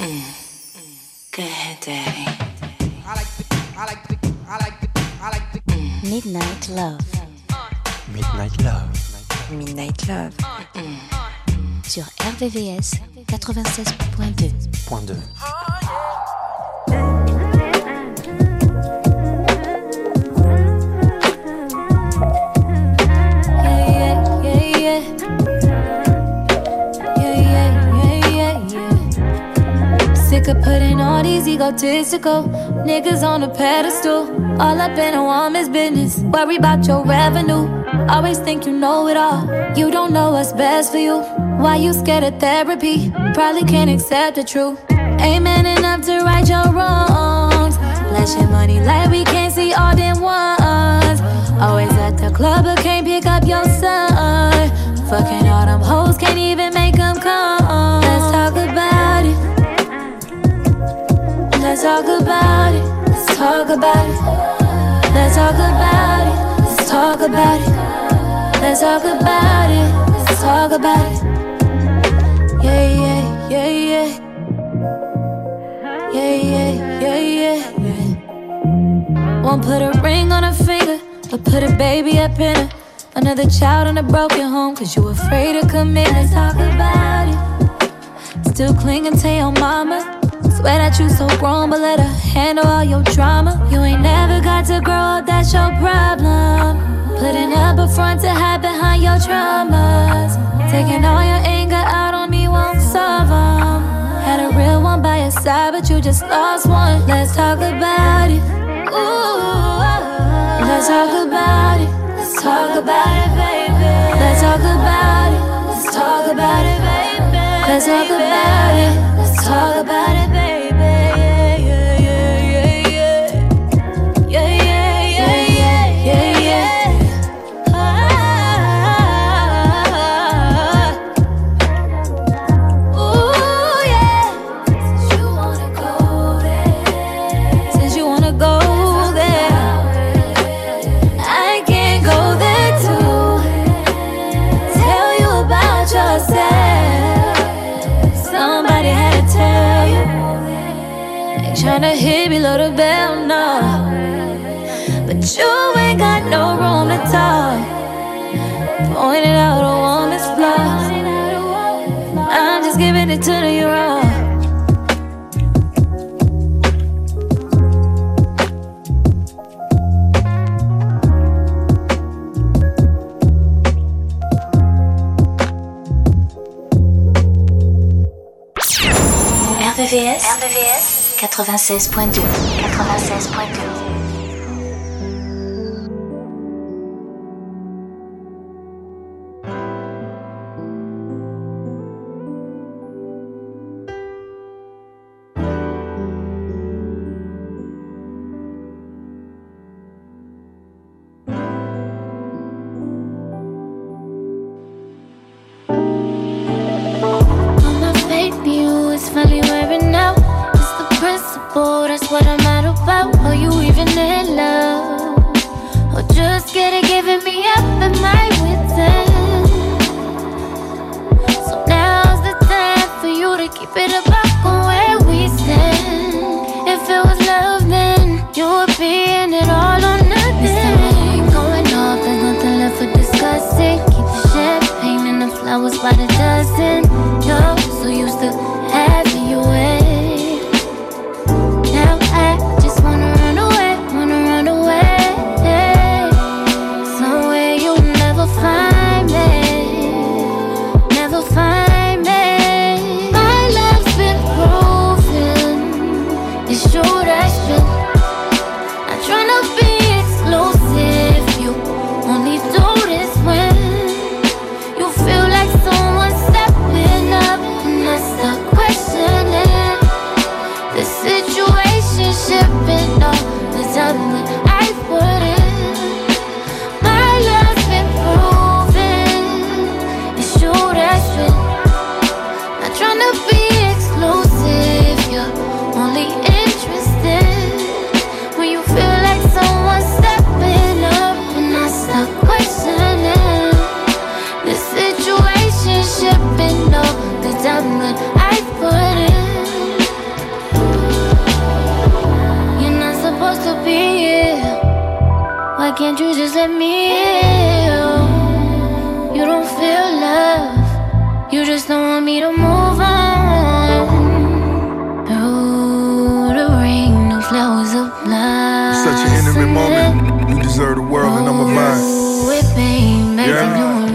Go ahead, Daddy. Midnight Love. Midnight Love. Midnight Love. Sur RVVS 96.2. Point 2. Sick of putting all these egotistical niggas on a pedestal. All up in a woman's business. Worry about your revenue. Always think you know it all. You don't know what's best for you. Why you scared of therapy? Probably can't accept the truth. Ain't man enough to right your wrongs. Flashing money like we can't see all them ones. Always at the club but can't pick up your son. Fucking all them hoes, can't even make them come. Let's talk about it. Let's talk about it. Let's talk about it. Let's talk about it. Let's talk about it. Let's talk about it. Let's talk about it. Yeah, yeah, yeah, yeah. Yeah, yeah, yeah, yeah, yeah. Won't put a ring on her finger, but put a baby up in her. Another child in a broken home, cause you afraid of commitment. Let's talk about it. Still clinging to your mama. Swear that you so grown, but let her handle all your drama. You ain't never got to grow up, that's your problem. Putting up a front to hide behind your traumas. Taking all your anger out on me won't solve them. Had a real one by your side, but you just lost one. Let's talk about it. Ooh, let's talk about it. Let's talk about it, baby. Let's talk about it. Let's talk about it, baby. Let's talk about it. Let's talk about it, baby. Tryna hit below the bell, no. But you ain't got no room to talk. Pointing out a woman's flaws. I'm just giving it to you raw. RVVS 96.2. 96.2. That's what I'm mad about. Are you even in love? Or just scared of giving me up at my wit's end? So now's the time for you to keep it about on where we stand. If it was love, then you would be in it all or nothing. This time ain't going off, there's nothing left for discussing. Keep the champagne and the flowers by the dozen. You're so used to having you in. Find me, never find me. My love's been just let me heal. You don't feel love, you just don't want me to move on. Oh, the rain, no flowers of blood. Such an intimate moment. You deserve the world and I'm a mine. With pain, make me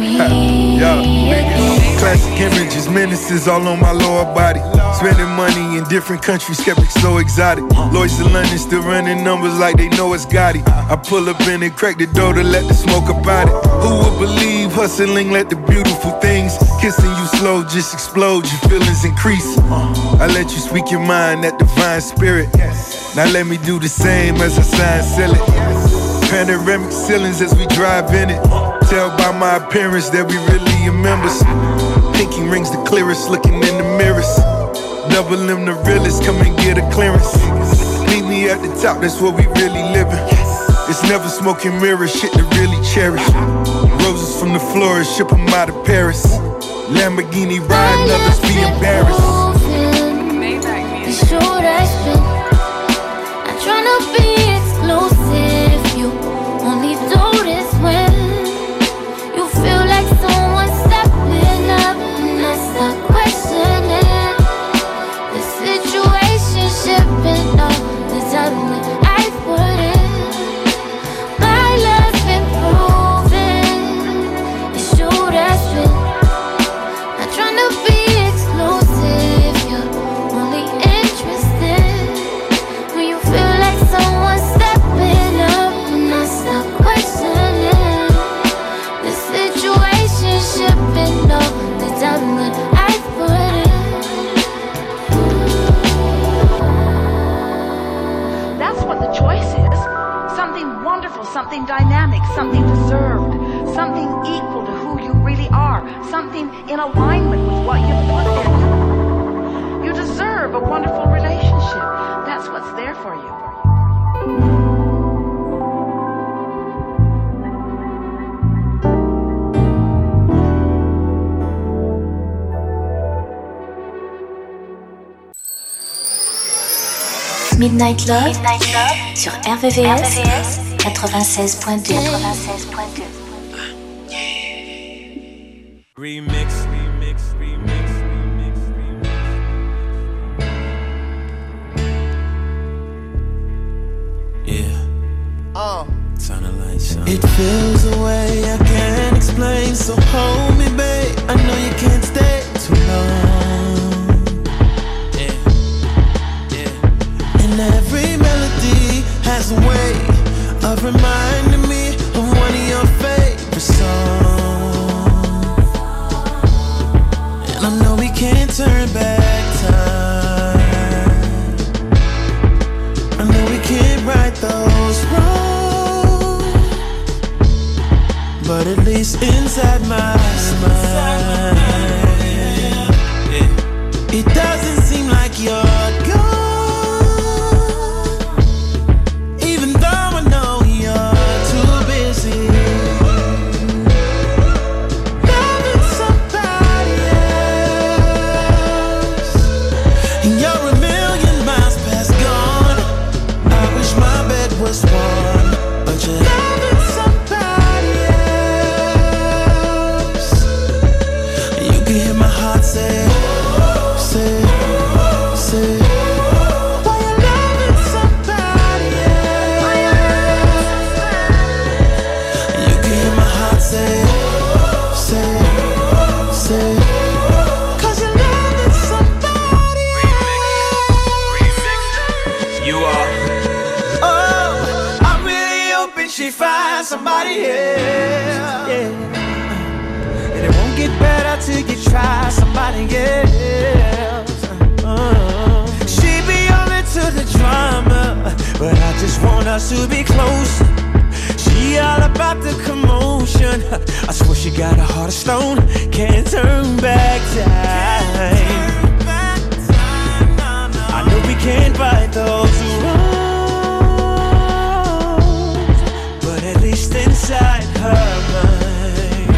Classic images, menaces all on my lower body. Spending money in different countries, skeptics so exotic. Lloyds of London still running numbers like they know it's Gotti. I pull up in and crack the door to let the smoke about it. Who would believe hustling let the beautiful things kissing you slow just explode, your feelings increase. I let you speak your mind, that divine spirit. Now let me do the same as I sign, seal it. Panoramic ceilings as we drive in it. Tell by my appearance that we really are members. Pinky rings the clearest, looking in the mirrors. Double M the realest, come and get a clearance. Meet me at the top, that's where we really living. It's never smoking mirrors, shit to really cherish. Roses from the florist, ship them out of Paris. Lamborghini riding, others be embarrassed. It's true, that's true. I'm tryna be exclusive. You only do this when you feel like someone's stepping up, and I start questioning the situation, shipping all the time that I put in. My love's been proven. It's true, that's true. I'm tryna be exclusive. You're only interested when you feel like someone's stepping up, and I start questioning the situation, shipping all the time that I put in. That's what the choice is. Something wonderful, something dynamic, something deserved, something equal to who you really are, something in alignment with what you put in. You deserve a wonderful relationship. That's what's there for you. Midnight Love, sur RVVS 96.2. Remix. Yeah. Turn the lights on. It feels a way I can't explain, so hold me, babe. I know you can't stay too long. And every melody has a way of reminding me of one of your favorite songs. And I know we can't turn back time. I know we can't right those wrongs, but at least inside my mind, it doesn't seem like you're gone. Somebody else, yeah. And it won't get better till you try somebody else. She be only to the drama, but I just want us to be close. She all about the commotion. I swear she got a heart of stone. Can't turn back time. I know we can't fight those wrongs, at least inside her mind,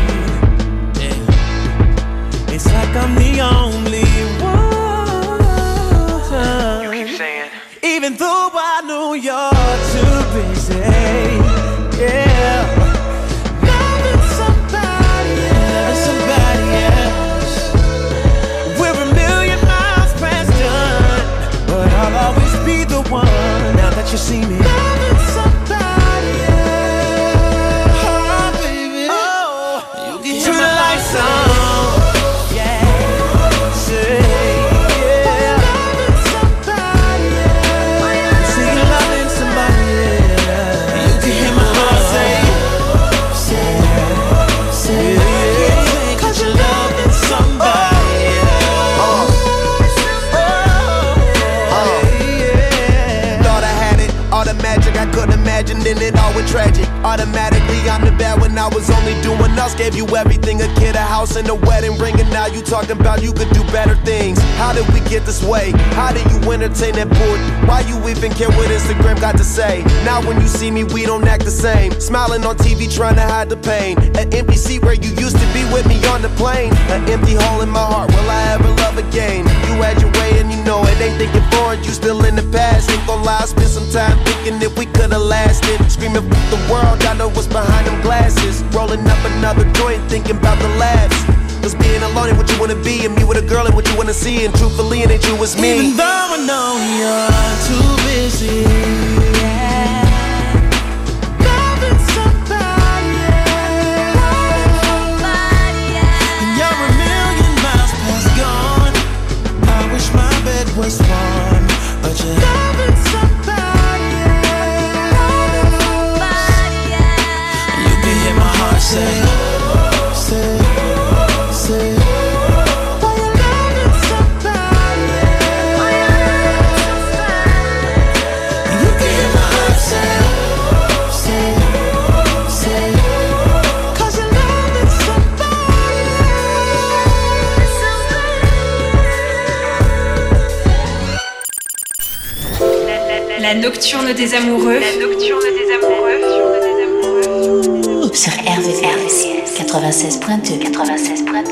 yeah. It's like I'm the only one. You keep saying, even though I know you're too busy, yeah. imagined, and it all went tragic. Automatically, I'm the bad when I was only doing us. Gave you everything, a kid, a house, and a wedding ring. And now you talking about you could do better things. How did we get this way? How did you entertain that board? Why you even care what Instagram got to say? Now when you see me, we don't act the same. Smiling on TV, trying to hide the pain. An empty seat where you used to be with me on the plane. An empty hole in my heart, will I ever love again? You had your way and you know it ain't thinking forward, you still in the past. Ain't gon' lie, I spent some time thinking if we could've lasted. Screaming fuck the world, I know what's behind them glasses. Rolling up another joint, thinking about the laughs. Cause being alone ain't what you wanna be, and me with a girl ain't what you wanna see. And truthfully, it ain't you, it's me. Even though I know you're too busy, loving somebody else, and you're a million miles past gone. I wish my bed was warm, but you're loving somebody else. You can hear my heart say, La nocturne des amoureux. La nocturne des amoureux. Sur RVVS 96.2. 96.2.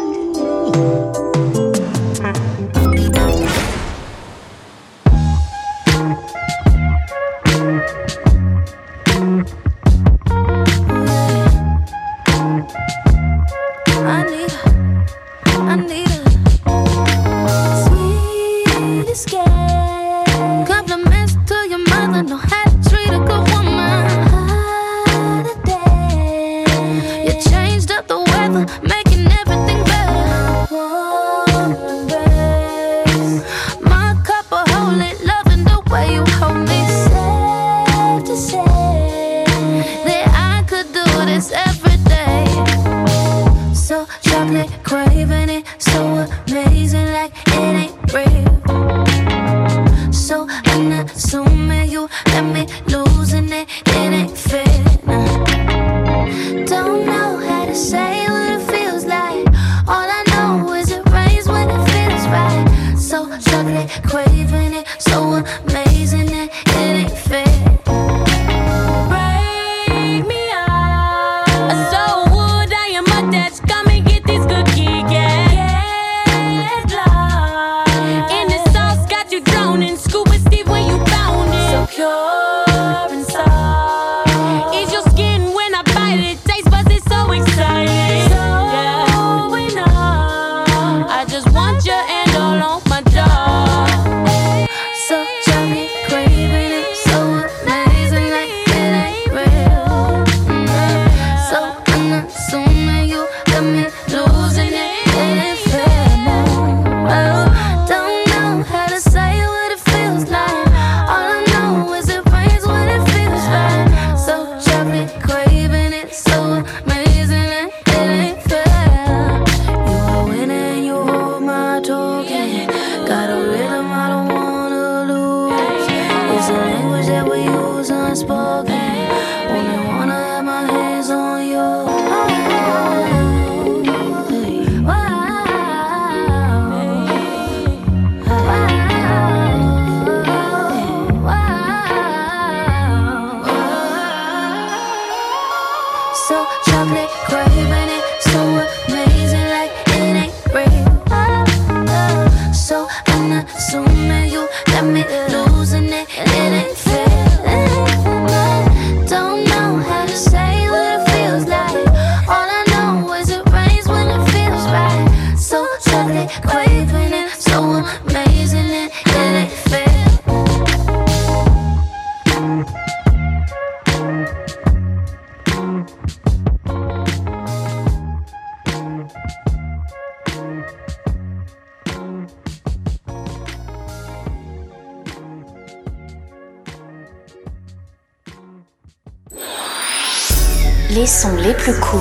Les sons les plus courts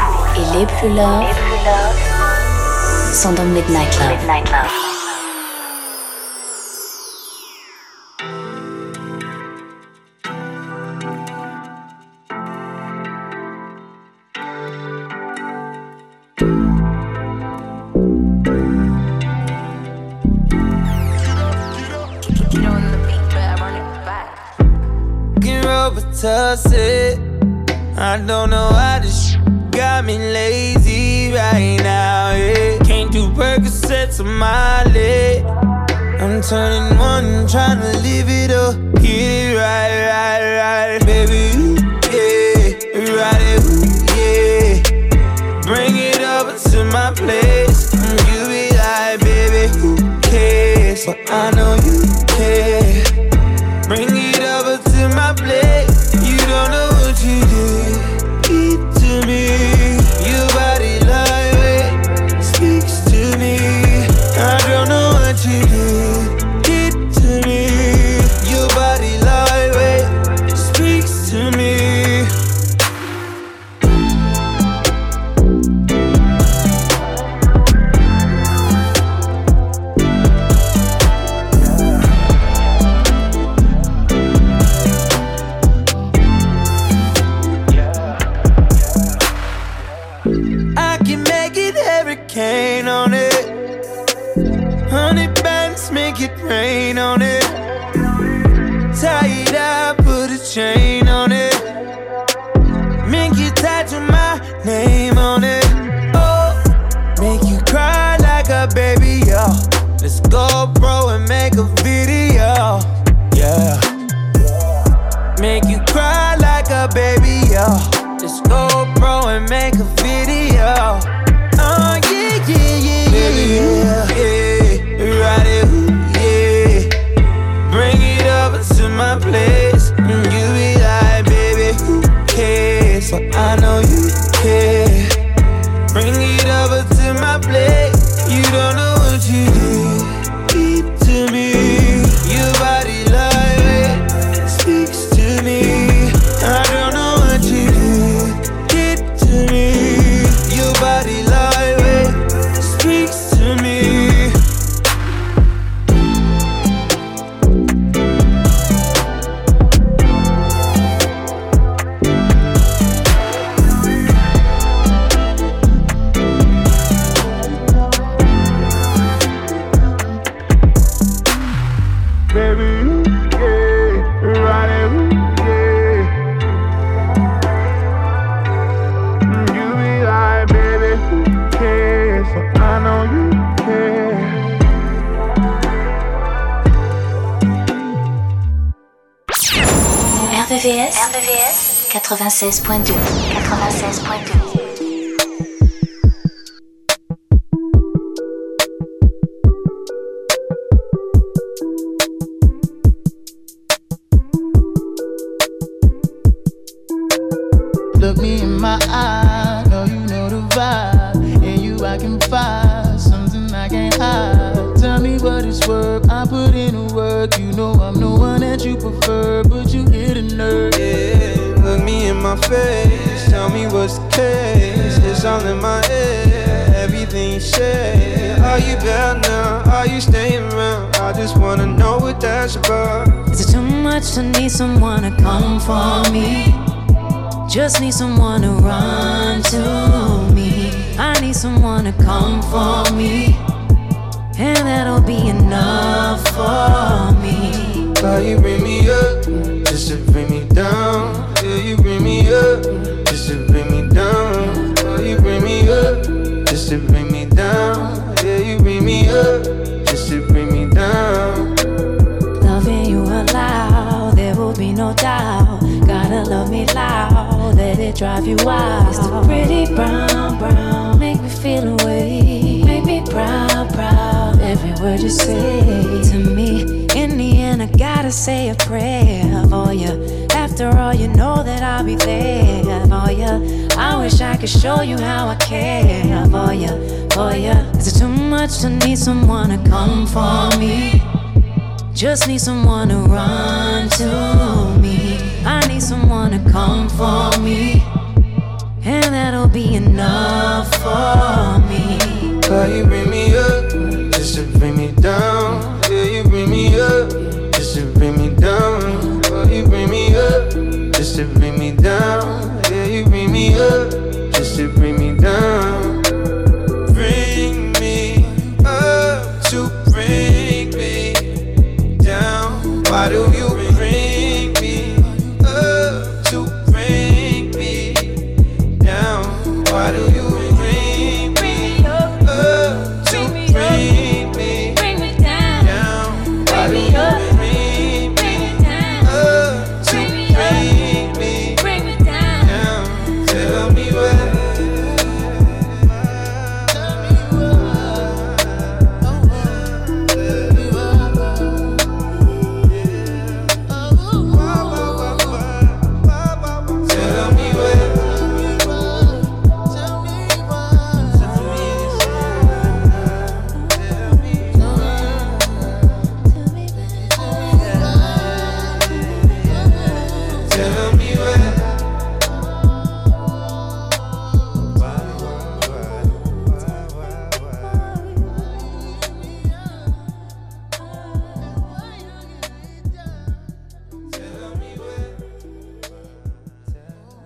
et les plus love sont dans Midnight Love. Robitussin. I don't know why this got me lazy right now, yeah. Can't do Percocets on my leg. I'm turning one, trying to live it up. Get it right, baby, yeah. Ride it, yeah. Bring it over to my place. You be like, baby, who cares? But I know you care. Bring it over to my place. You don't know what you did to me. Your body lightweight speaks to me. I don't know what you did to me. Your body lightweight speaks to me. On it, 100 bands, make it rain on it. Tie it up, put a chain on it. Make you tattoo my name on it. Oh, make you cry like a baby, yo. Let's go, bro, and make a video, yeah. Make you cry like a baby, yo. Let's go, bro, and make a video. Oh, yeah, baby, yeah, ride it, yeah. Bring it over to my place. You be like, baby, who cares? But I know you care. Bring it over to my place. You don't know what you did to me. Your body lightweight speaks to me. I don't know what you did to me. Your body lightweight speaks to me. Baby, yeah, ride it, yeah. You be like, baby, who cares? So I know you care. RVVS 96.2. 96.2. Look me in my eye, know you know the vibe. In you I can find something I can't hide. Tell me what it's worth, I put in the work. You know I'm the one that you prefer, but you hit a nerve. Yeah, look me in my face, tell me what's the case. It's all in my head, everything you say. Are you back now, are you staying around? I just wanna know what that's about. Is it too much to need someone to come for me? Just need someone to run to me. I need someone to come for me, and that'll be enough for me. Why you bring me up, just to bring me down? Yeah, you bring me up, just to bring me down. Why you bring me up, just to bring me down? Yeah, you bring me up, just to bring me down. Loving you aloud, there will be no doubt. Gotta love me loud, let it drive you wild. It's the pretty brown, brown, make me feel away. Make me proud, proud, every word you say to me. In the end I gotta say a prayer for you. After all, you know that I'll be there for you. I wish I could show you how I care for you, for you. Is it too much to need someone to come for me? Just need someone to run to me. I need someone to come for me, and that'll be enough for me. Why you bring me up, just to bring me down? Yeah, you bring me up, just to bring me down. Why you bring me up, just to bring me down? Yeah, you bring me up, just to bring me down. Bring me up to bring me down. Why do you bring me up?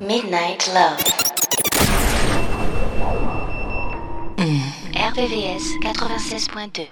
Midnight Love. RVVS 96.2.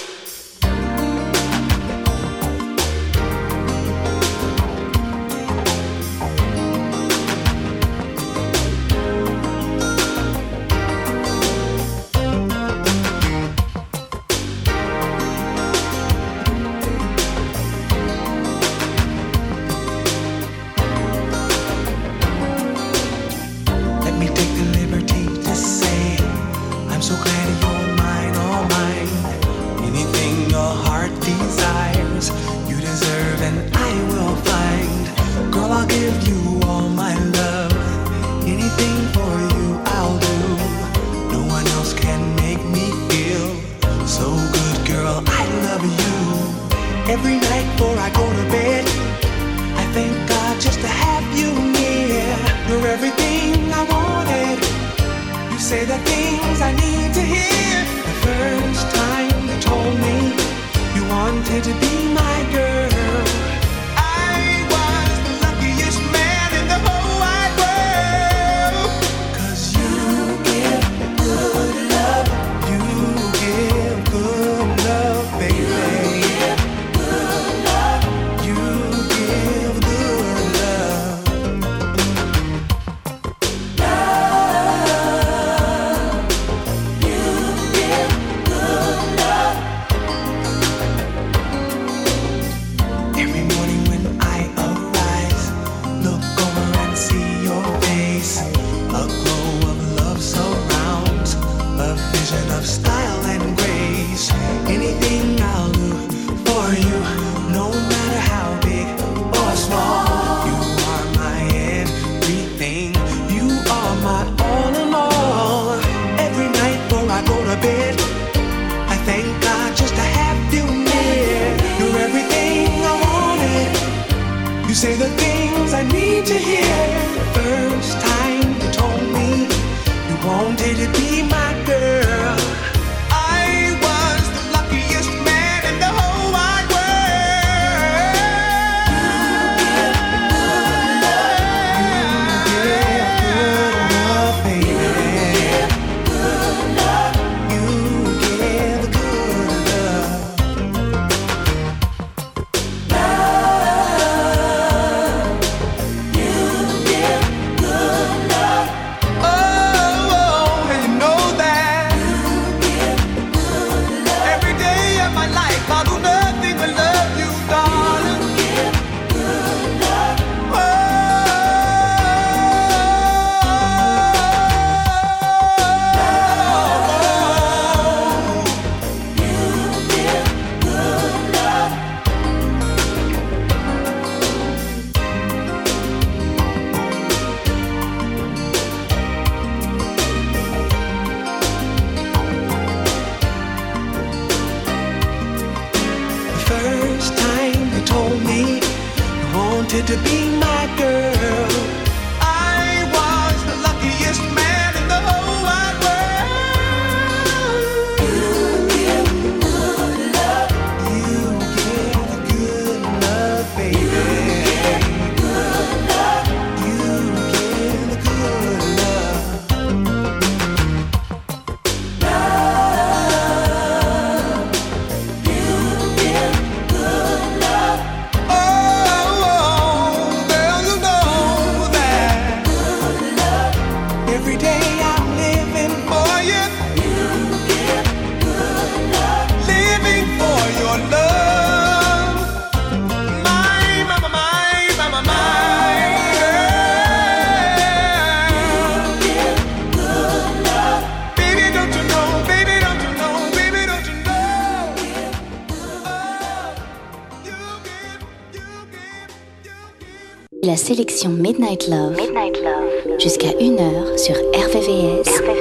La sélection Midnight Love, jusqu'à 1h sur RVVS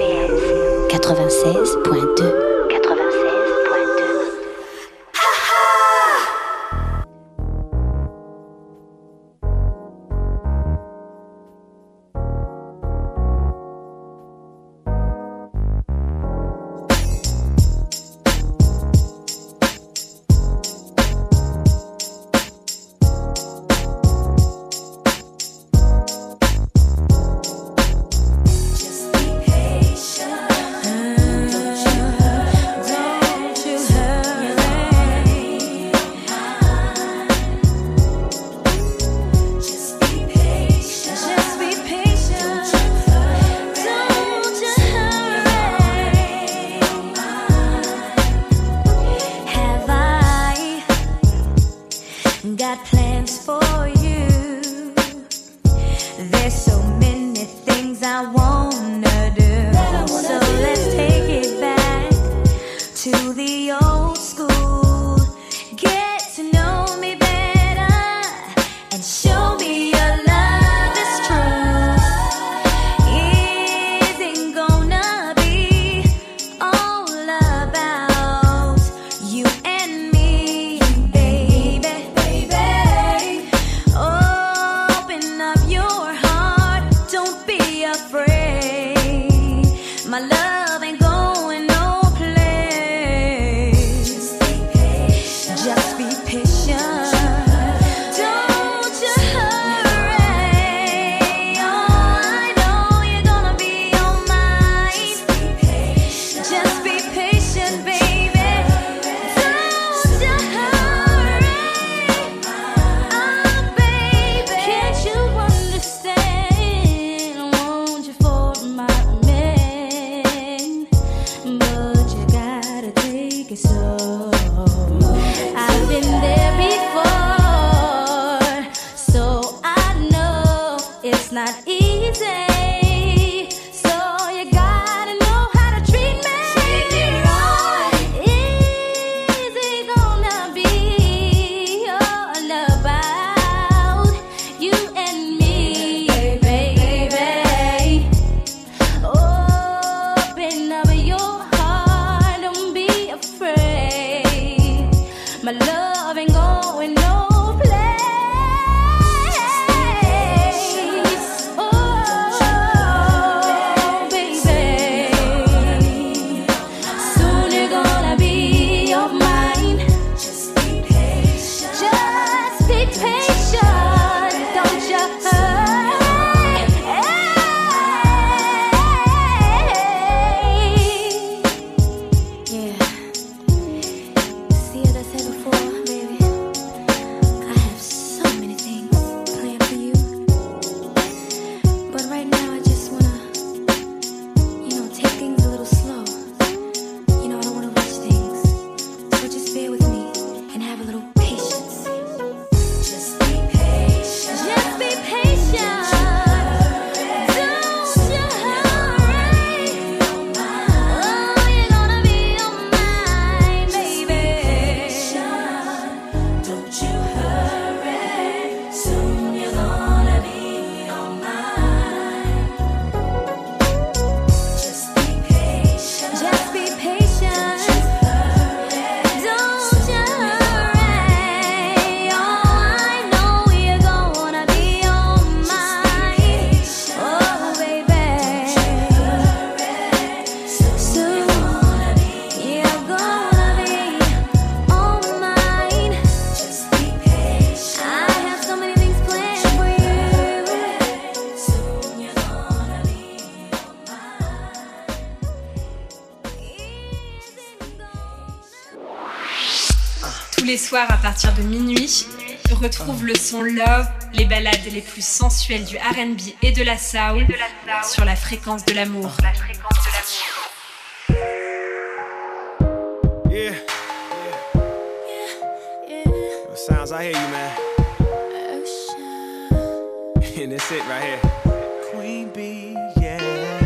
96.2. got plans for you. There's so many things I wanna do. So let's take it back to the old school. Get to know me better and show me your love is true. Isn't gonna be all about you and me, baby, baby. Open up your heart, don't be afraid. My love ain't going no place. Just be patient. Don't you hurry. Oh, I know you're gonna be on mine. Just be patient, baby. Don't you hurry. Oh, baby. Can't you understand? I want you for my man, but you gotta take it slow. I've been there before, so I know it's not easy. So you gotta know how to treat me right. Easy gonna be all about you and me, baby. Open up your heart, don't be afraid. My love ain't going no place. Oh, baby. Soon you're gonna be of mine. Just be patient. Just be patient. Don't you hurry. Yeah. See, as I said before, baby, I have so many things planned for you. But right now, I just wanna, take things a little slow. I don't wanna rush things. So just bear with me and have a little patience. Just be patient. Just be patient. Don't you hurry. Oh, you're gonna be on mine, baby. Don't you hurry. Soon you're gonna be on mine. Just be patient. Just be patient. Don't you hurry. Oh, I know you're gonna be on mine. Oh, baby. Soon you're gonna be on mine. Just be patient. I have so many things planned for you. Soon you're gonna be on Tous les soirs à partir de minuit, retrouve le son Love, les ballades les plus sensuelles du R&B et de la soul sur la fréquence de l'amour. Yeah. Sounds, I hear you, man. And that's it right here. Queen Bee, yeah.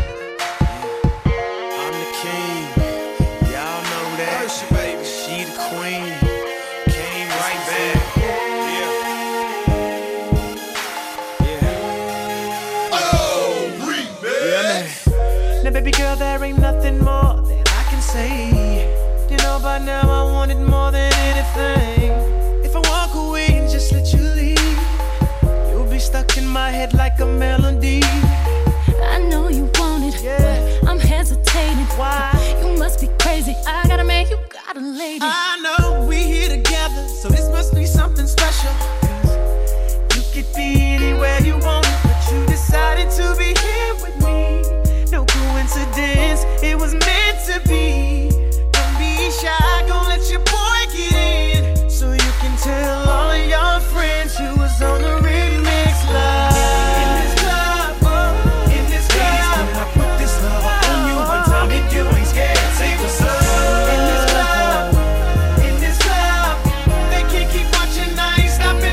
I'm the king. Y'all know that. She the queen. Came right back. Yeah, man. Now, baby girl, there ain't nothing more that I can say. By now I want it more than anything. If I walk away and just let you leave, you'll be stuck in my head like a melody. I know you want it, but I'm hesitating. Why? You must be crazy. I got a man, you got a lady. I know we here together, so this must be something special. 'Cause you could be anywhere you want, but you decided to be here with me. No coincidence, it was meant to be. Don't be shy, gon' let your boy get in, so you can tell all your friends you was on the remix live. In this club, in this club, I put this love on you one time if you ain't scared. Say what's up. In this club, they can't keep watching, I ain't stopping.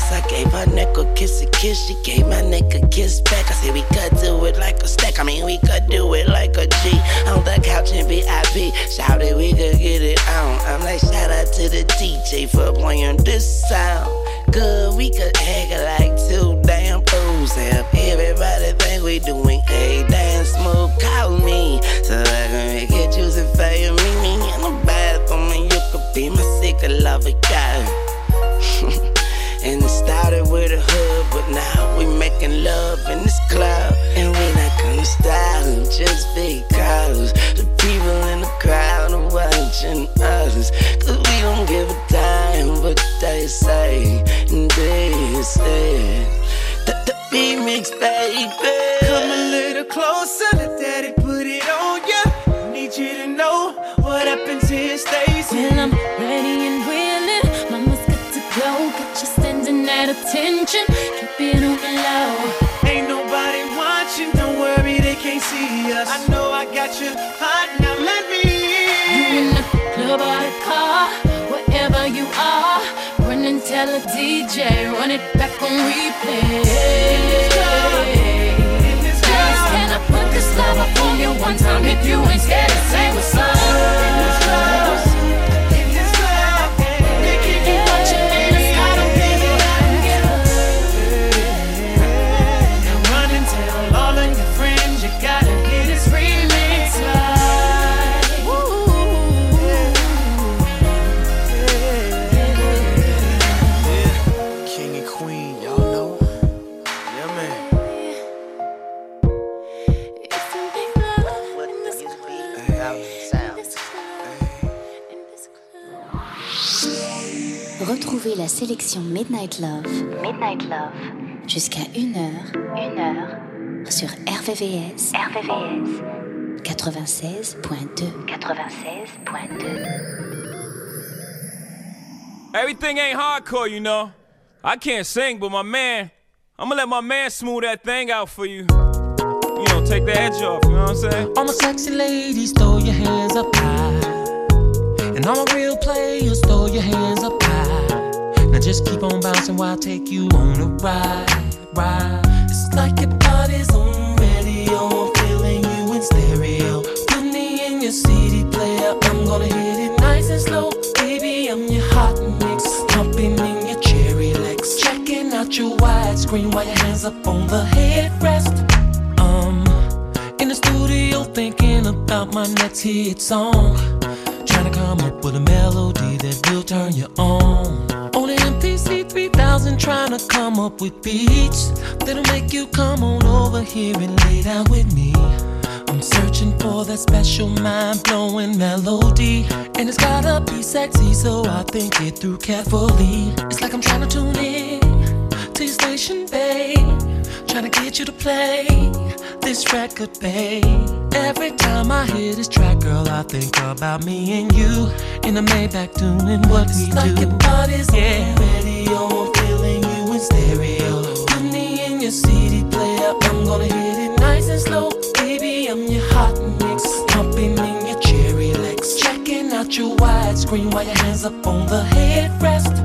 kiss. I gave her neck a kiss. She gave my neck a kiss back. I said we could do it like a stack. I mean we could do it like a G. On the couch in VIP. Shout it, we could get it on. I'm like shout out to the DJ for playing this sound. Good, we could act like two damn fools. Have everybody think we doing a damn smooth. Call me so I can make it juicy for you. Meet me in the bathroom and you could be my secret lover, girl. And it started with a hood, but now we making love in this club. And we not gonna stop just because the people in the crowd are watching us. Cause we don't give a damn what they say. And this is the remix, baby. Come a little closer, let daddy put it on ya. Need you to know what happens here stays here. Well, I'm ready and willing, mama's good to go. Got you standing at attention, keep it on the low. Ain't nobody watching, don't worry, they can't see us. I know I got you hot, now let me in. You in the club or the car, wherever you are, run and tell a DJ, run it back on replay. Can I put this love up on you one time if you ain't scared to say what's up? They keep you watching in the sky, don't give it up. Now run and tell all of your friends you gotta hear this remix live. King and Queen, y'all know. Yeah, man. Retrouvez la sélection Midnight Love. Midnight Love. Jusqu'à 1h. Sur RVVS. 96.2. Everything ain't hardcore, you know. I can't sing, but I'ma let my man smooth that thing out for you. You know, take the edge off, you know what I'm saying? All my sexy ladies, throw your hands up high. And all my real players, throw your hands up high. Now just keep on bouncing while I take you on a ride. It's like your body's on radio, I'm feeling you in stereo. Put me in your CD player, I'm gonna hit it nice and slow. Baby, I'm your hot mix, jumping in your cherry legs. Checking out your widescreen while your hands up on the headrest. In the studio thinking about my next hit song. Trying to come up with a melody that will turn you on. On the MPC 3000 trying to come up with beats that'll make you come on over here and lay down with me. I'm searching for that special mind-blowing melody, and it's gotta be sexy, so I think it through carefully. It's like I'm trying to tune in to your station, babe, trying to get you to play this record, babe. Every time I hear this track, girl, I think about me and you in the Maybach doing what we do. It's like your body's on radio, I'm feeling you in stereo. Put me in your CD player, I'm gonna hit it nice and slow. Baby, I'm your hot mix, jumping in your cherry legs. Checking out your widescreen while your hands up on the headrest.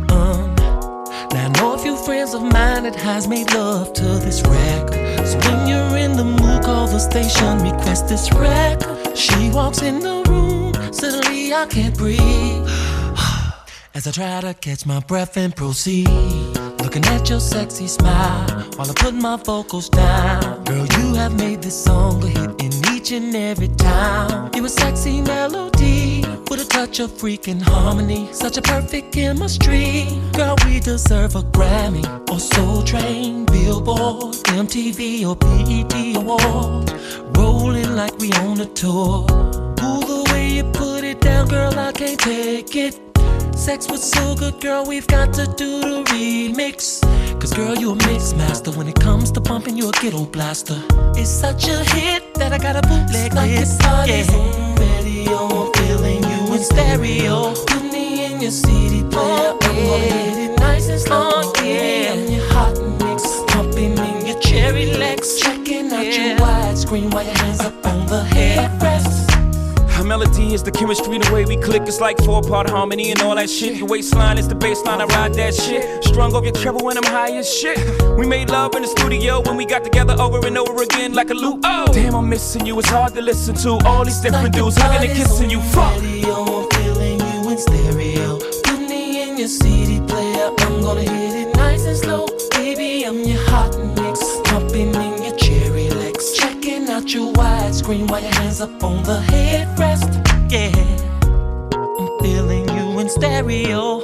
Now I know a few friends of mine that has made love to this record. So when you're in the mood, call the station, request this record. She walks in the room, suddenly I can't breathe. As I try to catch my breath and proceed, looking at your sexy smile while I put my vocals down. Girl, you have made this song a hit in each and every time. You a sexy melody with a touch of freaking harmony, such a perfect chemistry. Girl, we deserve a Grammy or Soul Train, Billboard, MTV or BET Award. Rolling like we on a tour. Ooh, the way you put it down, girl, I can't take it. Sex was so good, girl, we've got to do the remix. Cause girl, you a mix master. When it comes to bumping, you a ghetto blaster. It's such a hit that I got a bootleg like this. It's on radio, I'm feeling you in stereo. Put me in your CD player, I'm gonna hit it nice and slow. Baby, I'm your hot mix, pumping in your cherry legs. Checking out your widescreen while your hands up on the headrest. I melody is the chemistry, the way we click. It's like 4-part harmony and all that shit. Your waistline is the baseline, I ride that shit. Strung off your treble when I'm high as shit. We made love in the studio when we got together over and over again like a loop. Oh, damn, I'm missing you. It's hard to listen to all these different dudes hugging and kissing you. Fuck. I'm feeling you in stereo. Put me in your CD player. I'm gonna hit it nice and slow. Baby, I'm your hot mix. Jumping in your cherry legs. Checking out your widescreen while your hands up on the headrest. Yeah, I'm feeling you in stereo.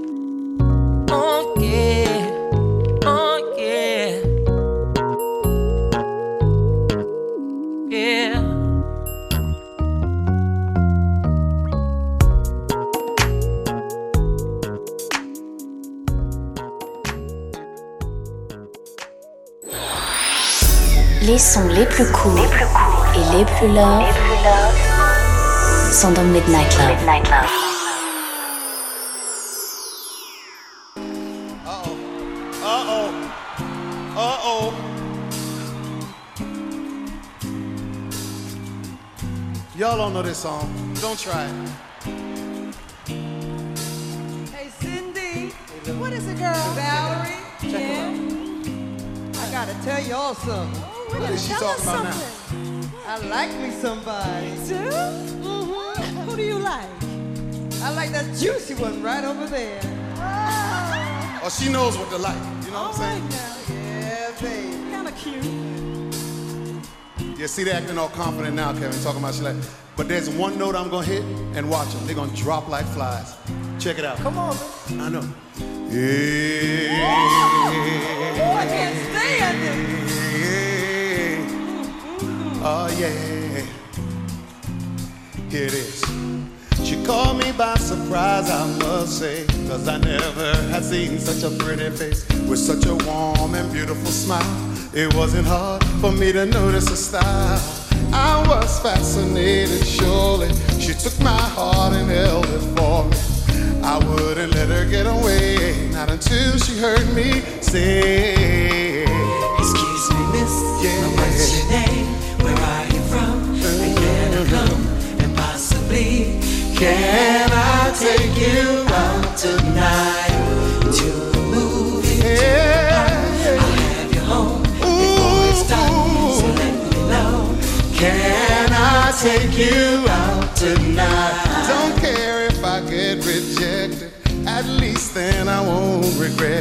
Oh yeah, oh yeah, yeah. Les sons les plus cool et les plus love sont dans Midnight Love. Y'all don't know this song. Don't try it. Hey, Cindy. What is it, girl? Valerie. Check her out. I gotta tell y'all something. What is she talking about now? I like me somebody. You do? Mm-hmm. Who do you like? I like that juicy one right over there. Oh, she knows what to like. You know what I'm saying? Yeah, baby. Kinda cute. Yeah, see, they acting all confident now, Kevin, talking about she like. But there's one note I'm gonna hit and watch them. They're gonna drop like flies. Check it out. Come on, man. I know. Yeah. Oh, I can't stand it. Oh, yeah. Here it is. She caught me by surprise, I must say, 'cause I never had seen such a pretty face with such a warm and beautiful smile. It wasn't hard for me to notice her style. I was fascinated, surely. She took my heart and held it for me. I wouldn't let her get away, not until she heard me say, excuse me, miss, what's your name? Where are you from? And can I come? And possibly, can I take you out tonight to a movie? I'll have you home before it's done, so let me know. Can I take you out tonight? Don't care if I get rejected, at least then I won't regret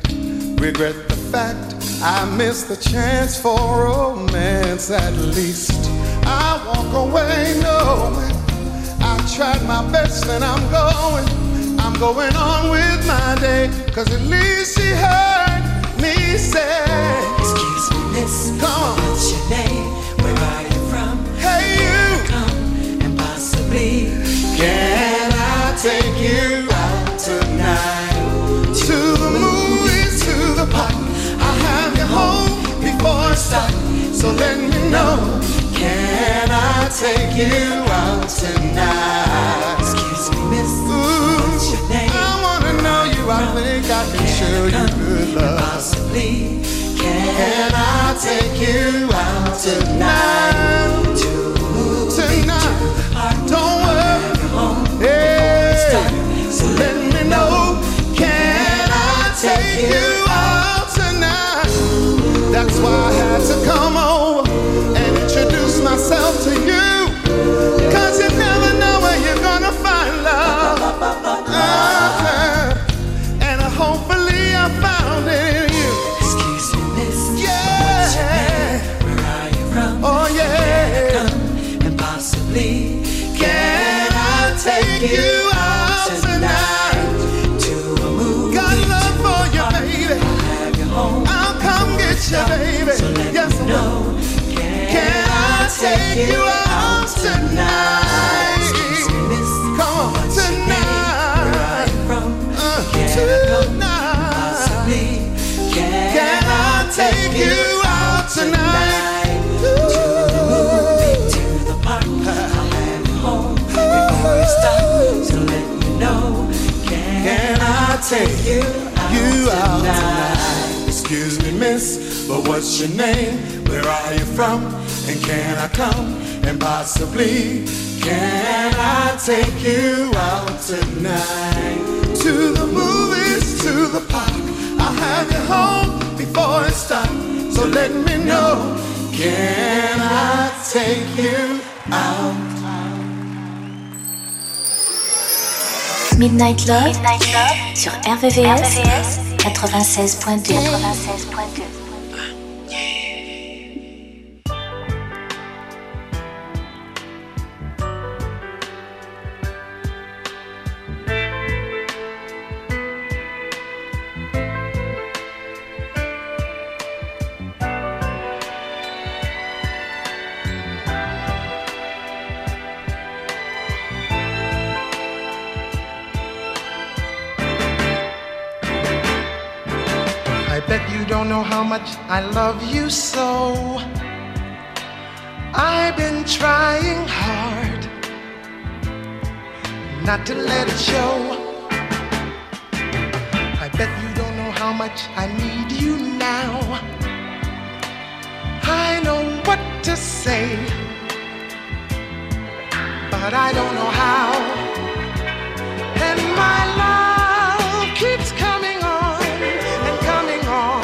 the fact I missed the chance for romance. At least I walk away knowing I tried my best and I'm going on with my day. 'Cause at least she heard me say, excuse me, miss, come on, what's your name? Where are you from? Hey, you, come and possibly, can I take you out tonight to the movies, to the park? I'll have you home before it's dark, so let me know. Can I take you out tonight? Excuse me, miss, what's your name? I wanna know you, I think I can show you good love. Possibly, can I take you out tonight? Tonight, don't worry, hey, so let me know. Can I take you out tonight? That's why I had to come over and introduce myself to you. 'Cause you never know where you're gonna find love. And hopefully I found it in you. excuse me, miss, Yeah. what's your name? Where are you from? Oh yeah. Come and possibly, can I take you out tonight to a movie? Got love for you, baby. I'll have you home. I'll come get you, baby. So let Yes, me know. Can I take you out tonight? Excuse me, miss, Come on, what's your name? Where are tonight. you from? Can I come? Possibly, Can I take you out tonight? to the movie, to the park? I'll have you home before it's dark, so let me know. Can I take you out tonight? Excuse me, miss, but what's your name? Where are you from? And can I come? And possibly, Can I take you out tonight? To the movies, to the park. I'll have you home before it's dark. So let me know. Can I take you out? Midnight Love sur RVVS 96.2. How much I love you so. I've been trying hard not to let it show. I bet you don't know how much I need you now. I know what to say, but I don't know how. And my love keeps coming on and coming on.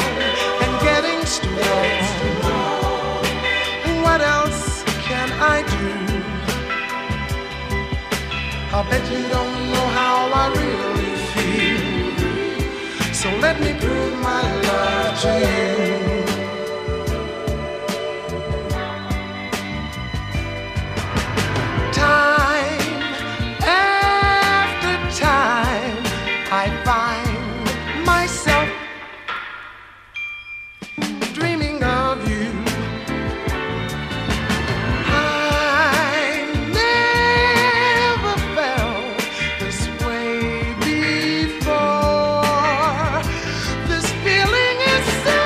What else can I do? I bet you don't know how I really feel. So let me prove my love to you. Time after time, I find myself dreaming of you. I never felt this way before. This feeling is so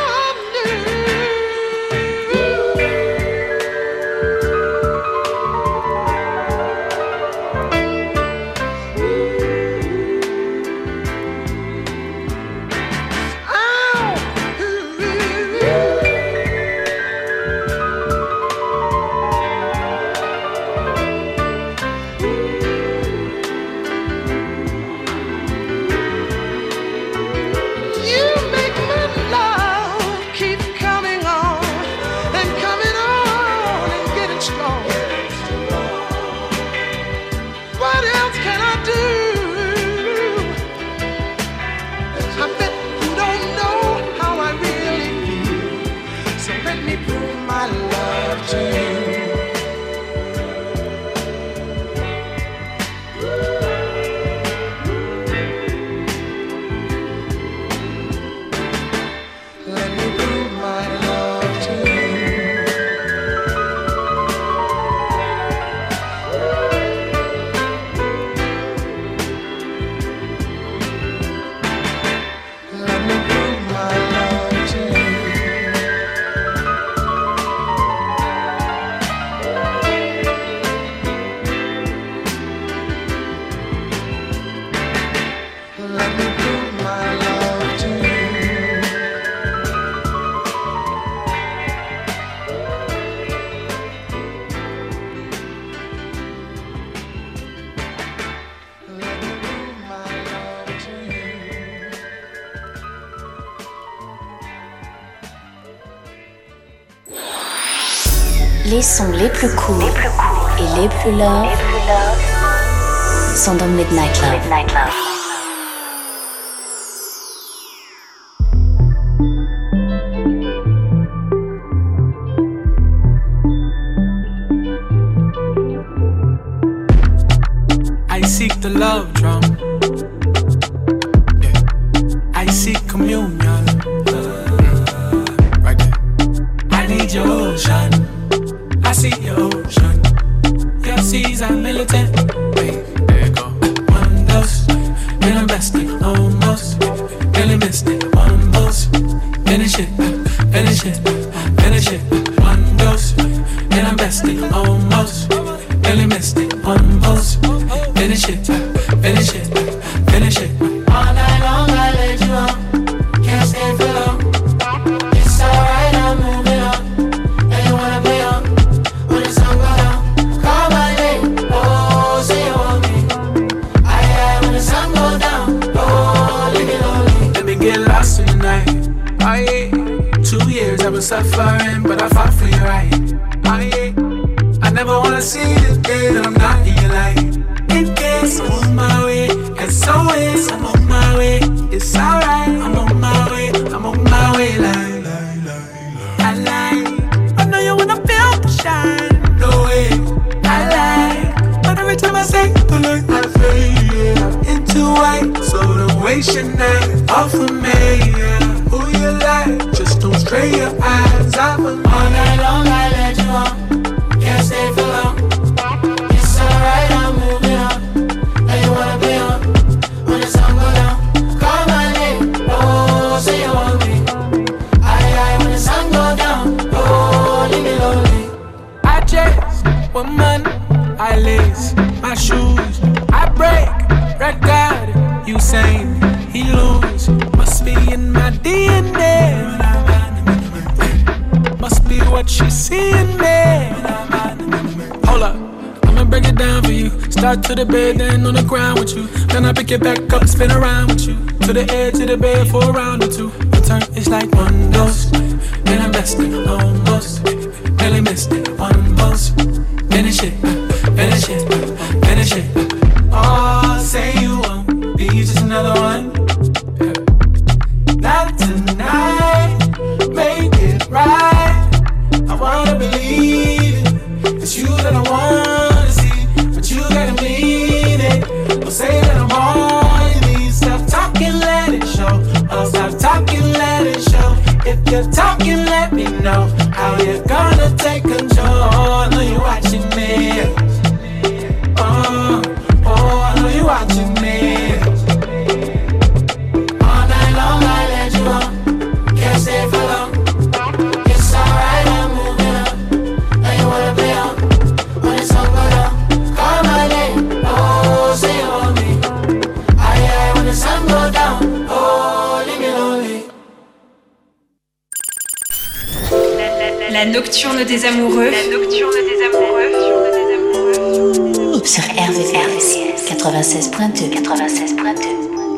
Les sons les plus cool et les plus love sont dans Midnight Love. I seek the love drum. Yeah. I seek communion. Right there. I need your ocean. I see your ocean. Your seas are militant. Wait, there you go. One dose, then I'm besting almost. Really missed it. One dose, finish it, finish it, finish it. One dose, then I'm besting almost. Really missed it. One dose, finish it, finish get lost in the night. Oh yeah. 2 years I was suffering, but I fought for you right. Oh yeah. I never wanna see this day that I'm not in your life. In case I'm on my way, as always I'm on my way. It's alright, I'm on my way, I'm on my way. I like, I know you wanna feel the shine. No way, I like, but every time I say the look, I fade into white. So don't waste your night off of me. Who you like? Just don't stray your eyes off of me. All night long I let you on. Can't stay for long. It's alright, I'm moving on. Now you wanna be on when the sun go down. Call my name, oh, say you want me. Aye, when the sun go down, oh, leave me lonely. I chase woman, I lace my shoes, I break record. Usain, he lose. Must be in my DNA. Must be what she see in me. Hold up, I'ma break it down for you. Start to the bed, then on the ground with you. Then I pick it back up, spin around with you. To the edge of the bed for a round or two. Return is like one dose. Then I messed it almost. Barely missed it, one post. Finish it, finish it, finish it. Oh, say you won't be just another one. Not tonight, make it right. I wanna believe it. It's you that I wanna see, but you gotta mean it. Don't say that I'm all you need. Stop talking, let it show. Oh, stop talking, let it show. If you're talking, let me know how you're gonna take control. I know you're watching me. Oh, I know you're watching me. All night long I let you on. Can't stay for long. It's alright, I'm moving on. Now you wanna be on when the sun go down. Call my name, oh, say you want me. Aye, when the sun go down, oh, leave me lonely. La nocturne des amoureux. La nocturne des amoureux. Sur RVVS 96.2. 96.2.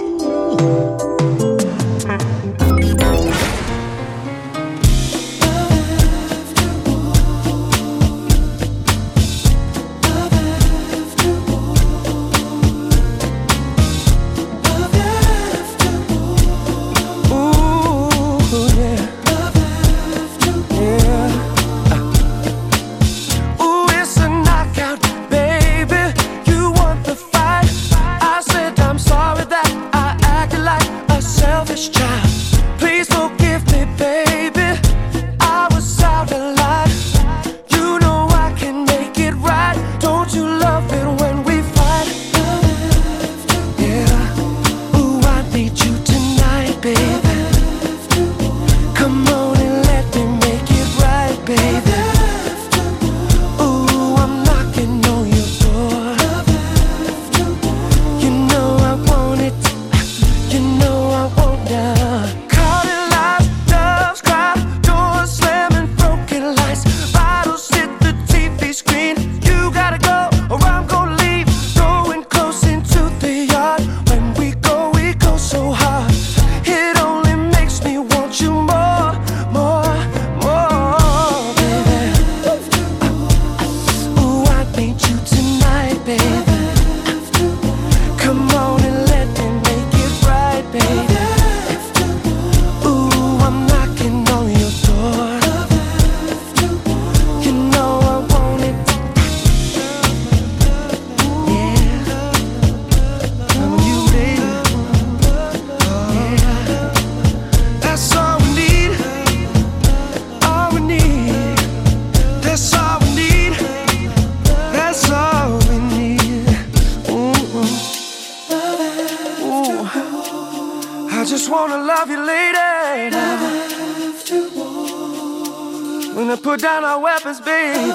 When I put down our weapons, baby,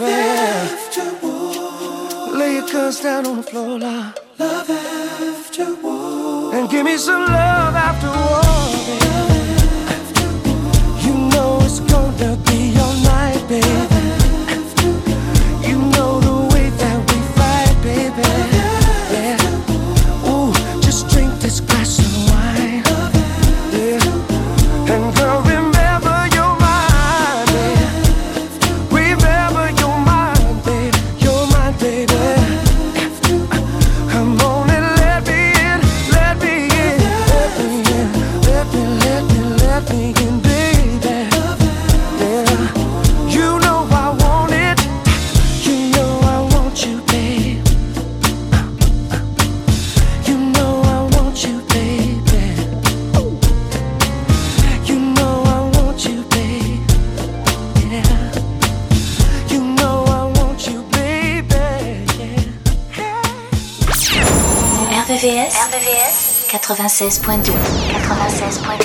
lay your guns down on the floor, love. Love after war. And give me some love after war, baby. You know it's gonna be all night, baby. You know the way that we fight, baby. Yeah. Ooh, just drink this glass of wine. Yeah. got me in, baby. Yeah, you know I want it. You know I want you, babe. You know I want you, baby. You know I want you, babe. Yeah. You know I want you, baby. Yeah. RVVS 96.2. 96.2.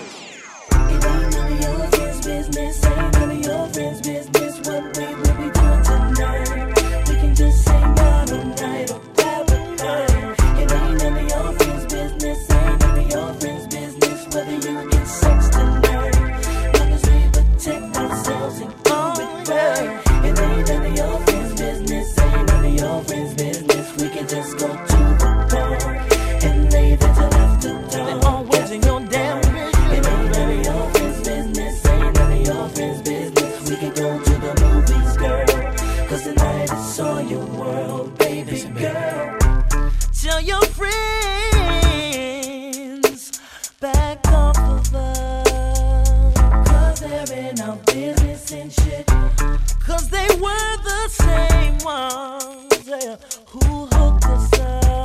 Tell your friends back off of us, 'cause they're in our business and shit. 'Cause they were the same ones who hooked us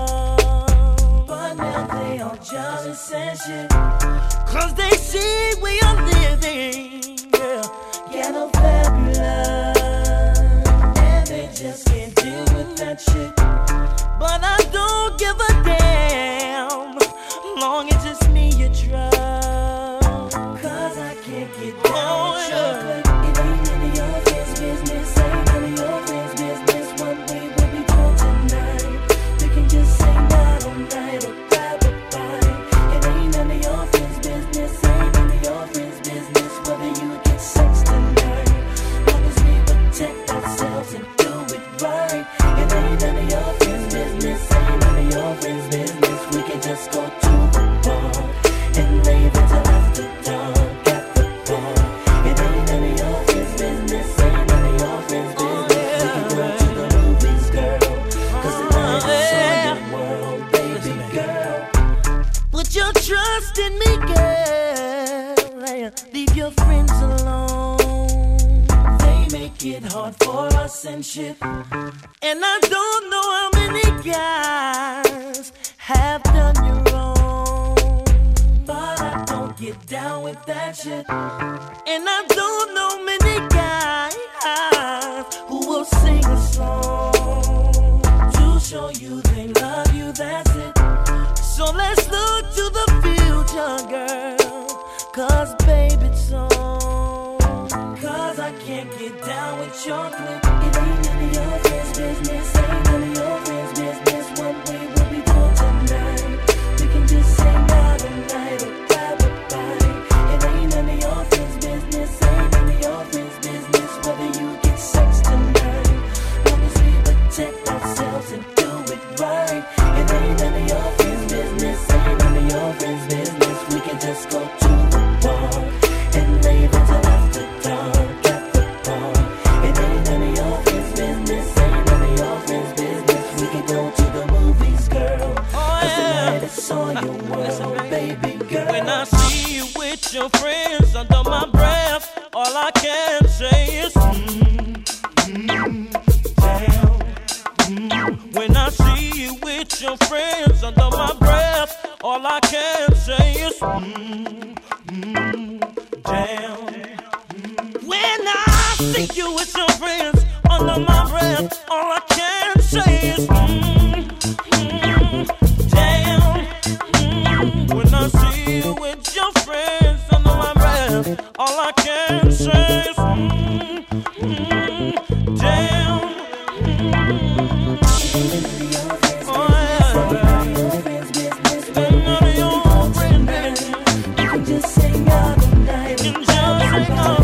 up, but now they all jealous and shit. 'Cause they see we are living ghetto fabulous, and they just can't deal with that shit. But I don't give a damn, long as it's me you trust. 'Cause I can't get down with chocolate. It ain't none of your friends' business, ain't none of your friends' business. What we will be doing tonight, we can just sing out all night or grab a bite. It ain't none of your friends' business, ain't none of your friends' business. Whether you get sex tonight, long as we protect ourselves and do it right. It ain't none of your friends' business, ain't none of your friends' business. We can just go to the bar and leave it till after dark at the bar. It ain't none of your friends' business, ain't none of your friends' business. We can go to the movies, girl, 'cause tonight is all your world, baby girl. Put your trust in me, girl. Leave your friends alone. They make it hard for us and shit. And I don't know how many guys have done you wrong, but I don't get down with that shit. And I don't know many guys who will sing a song to show you they love you, that's it. So let's look to the future, girl, 'cause baby it's on. 'Cause I can't get down with chocolate. It ain't none of your friends' business, ain't none of your friends' business. What we will be doing tonight, we can just sing out all night or grab a bite. It ain't none of your friends' business, ain't none of your friends' business. Whether you get sex tonight, long as we protect ourselves and do it right. It ain't none of your friends' business, ain't none of your friends' business. We can just go to the bar and leave it till after dark at the bar. It ain't none of your friends' business, ain't none of your friends' business. We can go to the movies, girl, 'cause tonight it's all your world, baby girl. When I see you with your friends under my breath, all I can say is damn. When I see you with your friends under my breath, all I can say is damn. When I see you with your friends under my breath, all I can say is damn. When I see you with your friends under my breath, all I can say is damn. You can just sing out all night. You can just sing out